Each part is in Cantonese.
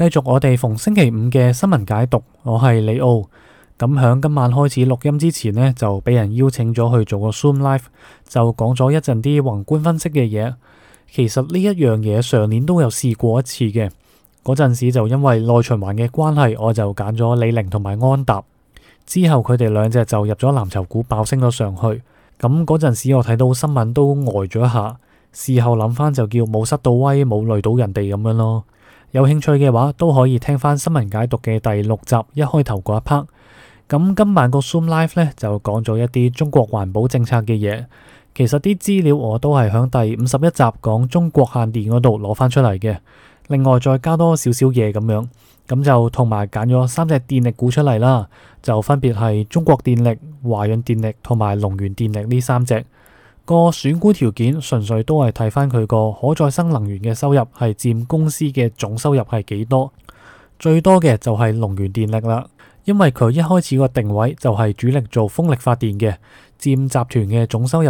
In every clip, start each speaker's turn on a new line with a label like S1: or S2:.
S1: 繼續我哋逢星期五嘅新聞解讀，我係李奧。咁響今晚開始錄音之前呢，就俾人邀請咗去做個 Zoom Live，就講咗一陣啲宏觀分析嘅嘢。其實呢一樣嘢上年都有試過一次嘅，嗰陣時就因為內循環嘅關係，我就揀咗李寧同埋安踏。之後佢哋兩隻就入咗藍籌股，爆升咗上去。咁嗰陣時我睇到新聞都呆咗一下，事後諗翻就叫冇失到威，冇累到人哋咁樣咯。有興趣嘅話都可以聽翻新聞解讀嘅第6集一開頭嗰一 part。咁今晚個 Zoom Live 呢，就講咗一啲中國環保政策嘅嘢。其實啲資料我都係響第51集講中國限電嗰度攞翻出嚟嘅。另外再加多少少嘢咁樣，咁就同埋揀咗3隻電力股出嚟啦，就分別係中國電力、華潤電力同埋龍源電力呢3隻。個選股條件純粹都係睇翻佢個可再生能源嘅收入係佔公司嘅總收入係幾多，最多嘅就係龍源電力啦，因為佢一開始個定位就係主力做風力發電嘅，佔集團嘅總收入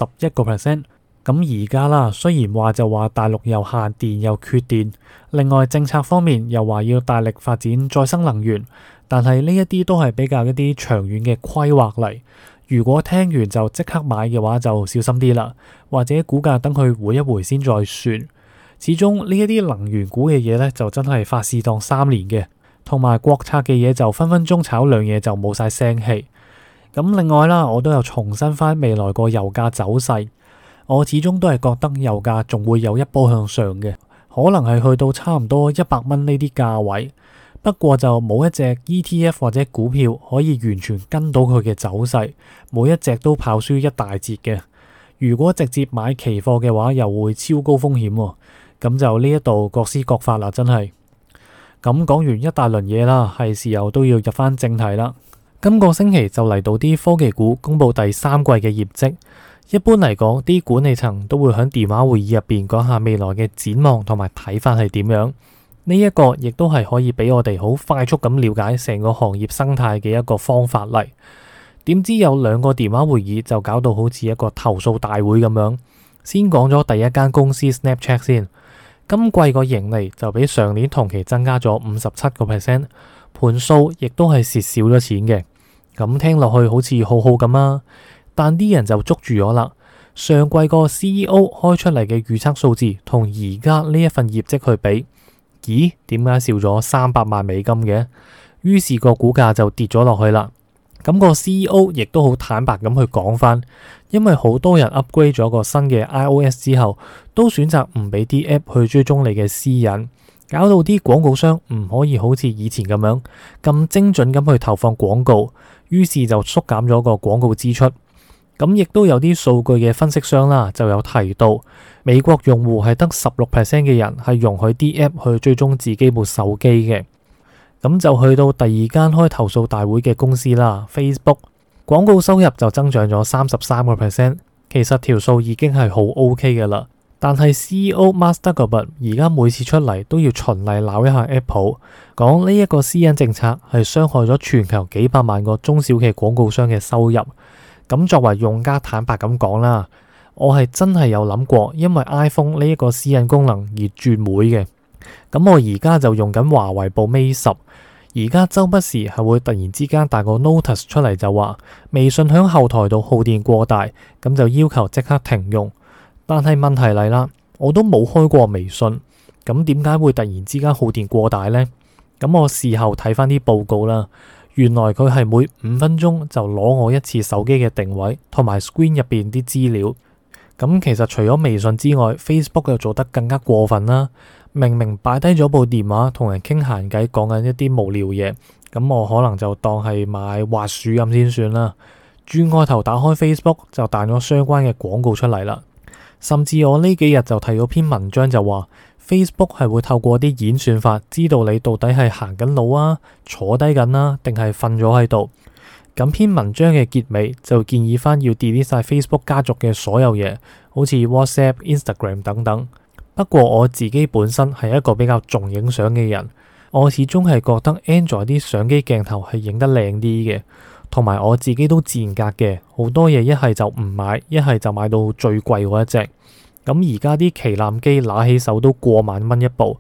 S1: 71%。咁而家啦，雖然話就話大陸又限電又缺電，另外政策方面又話要大力發展再生能源，但係呢一啲都係比較一啲長遠嘅規劃嚟。如果聽完就即刻買嘅話，就小心啲啦，或者股價等佢回一回先再算。始終呢一啲能源股嘅嘢呢，就真係發市當3年嘅，同埋國策嘅嘢就分分鐘炒兩嘢就冇晒聲氣。咁另外啦，我都有重申翻未來個油價走勢，我始終都係覺得油價仲會有一波向上嘅，可能係去到差唔多100蚊呢啲價位。不過就冇一隻 ETF 或者股票可以完全跟到佢嘅走勢，每一隻都跑輸一大截嘅。如果直接買期貨嘅話，又會超高風險喎。咁就呢一度各施各法啦，真係。咁講完一大輪嘢啦，係時候都要入翻正題啦。今個星期就嚟到啲科技股公布第3季嘅業績。一般嚟講，啲管理層都會喺電話會議入邊講下未來嘅展望同埋睇法係點樣。呢一個亦都係可以俾我哋好快速咁了解成個行業生態嘅一個方法嚟。點知有2個電話會議就搞到好似一個投訴大會咁樣。先講咗第一間公司 Snapchat 先，今季個盈利就比上年同期增加咗57%，盤數亦都係蝕少咗錢嘅。咁聽落去好似好好咁啊，但啲人就捉住咗啦。上季個 CEO 開出嚟嘅預測數字同而家呢一份業績去比，咦？點解少咗300萬美金嘅？於是個股價就跌咗落去啦。咁個 CEO 亦都好坦白咁去講翻，因為好多人 upgrade 咗個新嘅 iOS 之後，都選擇唔俾啲 app 去追蹤你嘅私隱，搞到啲廣告商唔可以好似以前咁樣咁精準咁去投放廣告，於是就縮減咗個廣告支出。咁亦都有啲數據嘅分析商啦，就有提到美國用戶係得16% 嘅人係容許啲 app 去追蹤自己部手機嘅。咁就去到第2間開投訴大會嘅公司啦 ，Facebook 廣告收入就增長咗33%，其實條數已經係好 OK 嘅啦。但係 CEO Mark Zuckerberg 而家每次出嚟都要循例鬧一下 Apple， 講呢一個私隱政策係傷害咗全球幾百萬個中小企廣告商嘅收入。咁作為用家坦白咁講啦，我係真係有諗過因為 iPhone 呢一個私隱功能而轉會嘅。咁我而家就用緊華為部 Mate 10，而家周不時係會突然之間彈個 notice 出嚟，就話微信響後台度耗電過大，咁就要求即刻停用。但係問題嚟啦，我都冇開過微信，咁點解會突然之間耗電過大呢？咁我事後睇翻啲報告啦。原來佢係每5分鐘就攞我一次手機嘅定位同埋 screen 入邊啲資料。咁其實除咗微信之外 ，Facebook 又做得更加過分啦。明明擺低咗部電話同人傾閒偈，講緊一啲無聊嘢，咁我可能就當係買滑鼠咁先算啦。轉個頭打開 Facebook 就彈咗相關嘅廣告出嚟啦。甚至我呢幾日就睇咗篇文章就話，Facebook 係會透過啲演算法知道你到底係行緊路啊、坐低緊啦，定係瞓咗喺度。咁篇文章嘅結尾就建議翻要 delete 晒 Facebook 家族嘅所有嘢，好似 WhatsApp、Instagram 等等。不過我自己本身係一個比較重影相嘅人，我始終係覺得 Android 啲相機鏡頭係影得靚啲嘅，同埋我自己都賤格嘅，好多嘢一係就唔買，一係就買到最貴嗰一隻。咁而家啲旗艦機拿起手都過萬蚊一部，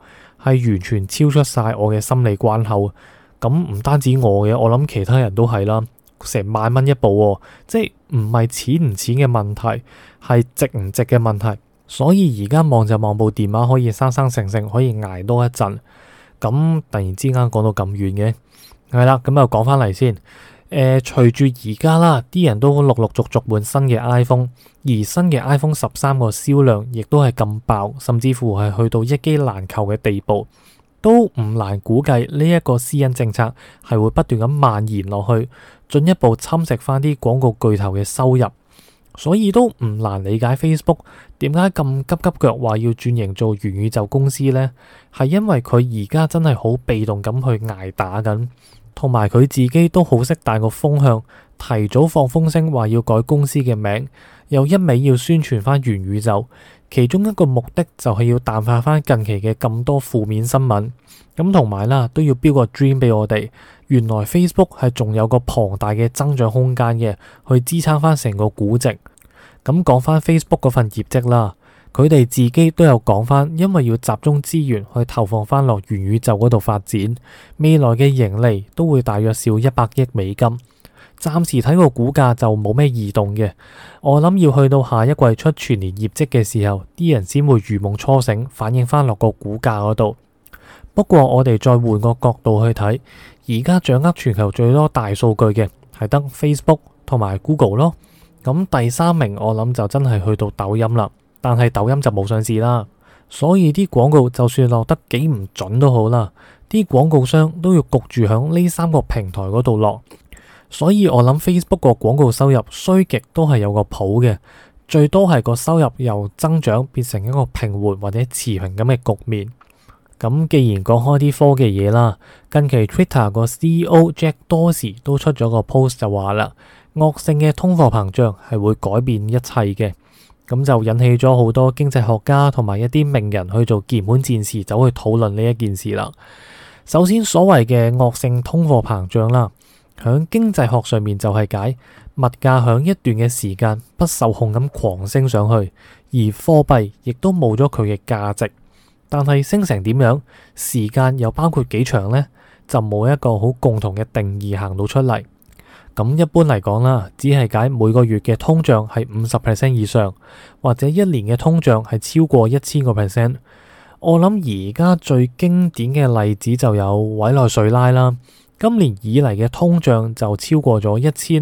S1: 係完全超出晒我嘅心理關口。咁唔單止我嘅，我諗其他人都係啦，成萬蚊一部喎，即係唔係錢唔錢嘅問題，係值唔值嘅問題。所以而家望就望部電話可以生生性性可以捱多一陣。咁突然之間講到咁遠嘅，係啦，咁又講翻嚟先。隨住而家啦，啲人都陸陸續續換新嘅 iPhone，而新嘅 iPhone 13個銷量亦都係咁爆，甚至乎係去到一機難求嘅地步，都唔難估計呢一個私隱政策係會不斷咁蔓延落去，進一步侵蝕翻啲廣告巨頭嘅收入。所以都唔難理解 Facebook 點解咁急急腳話要轉型做元宇宙公司呢？係因為佢而家真係好被動咁去捱打緊。同埋佢自己都好識帶個風向，提早放風聲話要改公司嘅名，又一味要宣傳翻元宇宙，其中一個目的就係要淡化翻近期嘅咁多負面新聞。咁同埋啦，都要標個 dream 俾我哋，原來 Facebook 係仲有個龐大嘅增長空間嘅，去支撐翻成個估值。咁講翻 Facebook 嗰份業績啦。佢哋自己都有講翻，因為要集中資源去投放翻落元宇宙嗰度發展，未來嘅盈利都會大約少100億美金。暫時睇個股價就冇咩異動嘅，我諗要去到下一季出全年業績嘅時候，啲人先會如夢初醒，反映翻落個股價嗰度。不過我哋再換個角度去睇，而家掌握全球最多大數據嘅係得 Facebook 同埋 Google 咯。咁第三名我諗就真係去到抖音啦。但係抖音就冇上市啦，所以啲廣告就算落得幾唔準都好啦，啲廣告商都要焗住響呢3個平台嗰度落。所以我諗 Facebook 個廣告收入衰極都係有個譜嘅，最多係個收入由增長變成一個平緩或者持平咁嘅局面。咁既然講開啲科技嘢啦，近期 Twitter 個 CEO Jack Dorsey 都出咗個 post 就話啦，惡性嘅通貨膨脹係會改變一切嘅。咁就引起咗好多經濟學家同埋一啲名人去做鍵盤戰士，走去討論呢一件事啦。首先，所謂嘅惡性通貨膨脹啦，響經濟學上面就係解物價響一段嘅時間不受控咁狂升上去，而貨幣亦都冇咗佢嘅價值。但係升成點樣，時間又包括幾長呢？就冇一個好共同嘅定義行到出嚟。咁一般嚟講啦，只係解每個月嘅通脹係50% 以上，或者一年嘅通脹係超過1000%。我諗而家最經典嘅例子就有委內瑞拉啦，今年以嚟嘅通脹就超過咗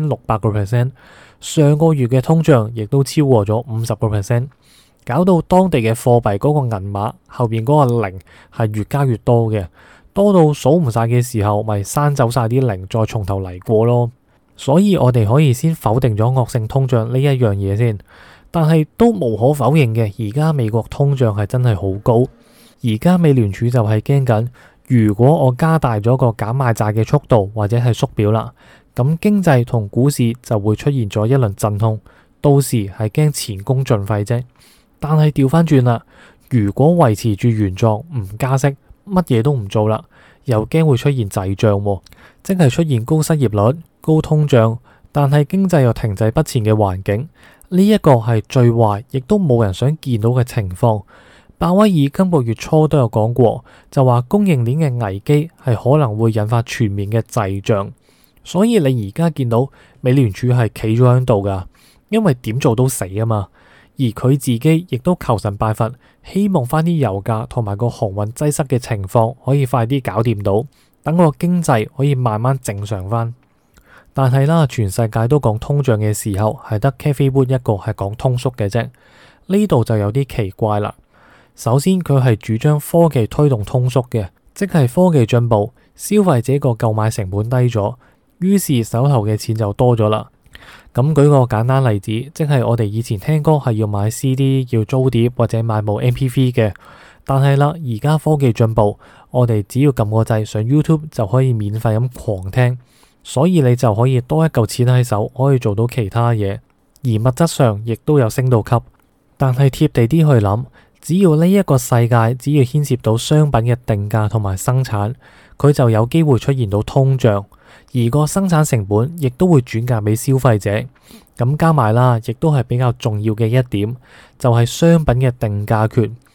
S1: 1600%，上個月嘅通脹亦都超過咗50%，搞到當地嘅貨幣嗰個銀碼後邊嗰個零係越加越多嘅，多到數唔晒嘅時候，咪刪走晒啲零，再從頭嚟過咯。所以我哋可以先否定咗惡性通脹呢一樣嘢先，但係都無可否認嘅，而家美國通脹係真係好高。而家美聯儲就係驚緊，如果我加大咗個減買債嘅速度或者係縮表啦，咁經濟同股市就會出現咗一輪陣痛，到時係驚前功盡廢啫。但係調翻轉啦，如果維持住原狀唔加息，乜嘢都唔做啦，又驚會出現滯脹，即係出現高失業率、高通脹，但係經濟又停滯不前嘅環境，呢一個係最壞，亦都冇人想見到嘅情況。鮑威爾今個月初都有講過，就話供應鏈嘅危機係可能會引發全面嘅滯脹，所以你而家見到美聯儲係企咗喺度噶，因為點做都死啊嘛。而佢自己亦都求神拜佛，希望翻啲油價同埋個航運擠塞嘅情況可以快啲搞掂到，等個經濟可以慢慢正常翻。但係啦，全世界都講通脹嘅時候，係得 Cathie Wood 一個係講通縮嘅啫。呢度就有啲奇怪啦。首先，佢係主張科技推動通縮嘅，即係科技進步，消費者個購買成本低咗，於是手頭嘅錢就多咗啦。咁舉個簡單例子，即係我哋以前聽歌係要買 CD， 要租碟或者買部 MP3 嘅，但係啦，而家科技進步，我哋只要撳個掣上 YouTube 就可以免費咁狂聽，所以你就可以多一嚿錢喺手，可以做到其他嘢，而物質上亦都有升到級。但係貼地啲去諗，只要呢一個世界只要牽涉到商品嘅定價同埋生產，佢就有機會出現到通脹，而個生產成本亦都會轉嫁俾消費者。咁加埋啦，亦都係比較重要嘅一點，就係商品嘅定價權。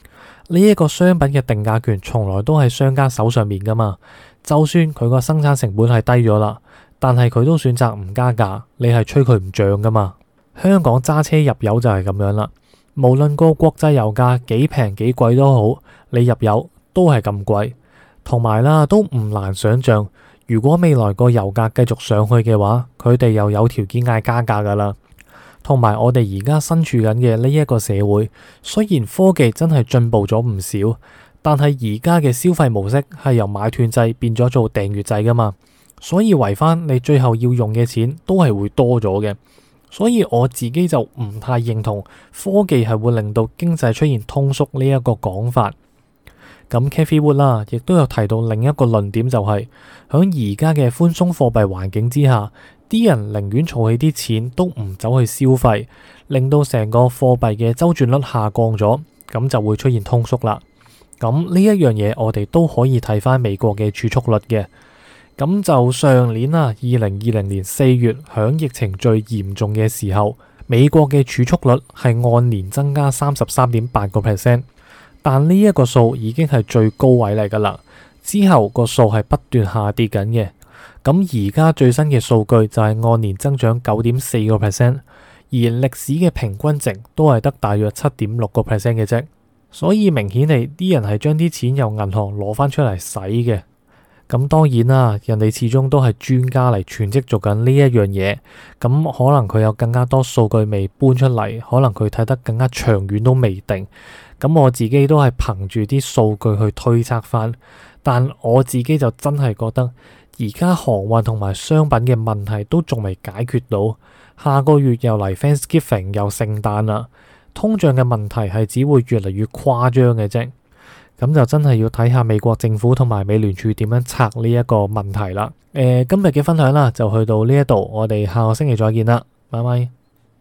S1: 呢一個商品嘅定價權從來都係商家手上面噶嘛，就算佢個生產成本係低咗啦，但係佢都選擇唔加價，你係吹佢唔漲噶嘛。香港揸車入油就係咁樣啦，無論個國際油價幾平幾貴都好，你入油都係咁貴。同埋啦，都唔難想象，如果未來個油價繼續上去嘅話，佢哋又有條件嗌加價噶啦。同埋我哋而家身處緊嘅呢一個社會，雖然科技真係進步咗唔少，但係而家嘅消費模式係由買斷制變咗做訂閱制噶嘛，所以為翻你最後要用嘅錢都係會多咗嘅。所以我自己就唔太認同科技係會令到經濟出現通縮呢一個講法。咁 Cathie Wood 啦，亦都有提到另一個論點，就係響而家嘅寬鬆貨幣環境之下，啲人寧願儲起啲錢都唔走去消費，令到成個貨幣嘅周轉率下降咗，咁就會出現通縮啦。咁呢一樣嘢我哋都可以睇翻美國嘅儲蓄率嘅。咁就上年啊，2020年4月響疫情最嚴重嘅時候，美國嘅儲蓄率係按年增加33.8%。但呢一個數已經係最高位嚟噶啦，之後個數係不斷下跌緊嘅。咁而家最新嘅數據就係按年增長9.4%，而歷史嘅平均值都係得大約7.6% 嘅啫。所以明顯地，啲人係將啲錢由銀行攞翻出嚟使嘅。咁當然啦，人哋始終都係專家嚟全職做緊呢一樣嘢，咁可能佢有更加多數據未搬出嚟，可能佢睇得更加長遠都未定。咁我自己都係憑住啲數據去推測翻，但我自己就真係覺得而家航運同埋商品嘅問題都仲未解決到，下個月又嚟 Thanksgiving 又聖誕啦，通脹嘅問題係只會越嚟越誇張嘅啫。咁就真係要睇下美國政府同埋美聯儲點樣拆呢一個問題啦。今日嘅分享啦就去到呢一度，我哋下個星期再見啦，拜拜。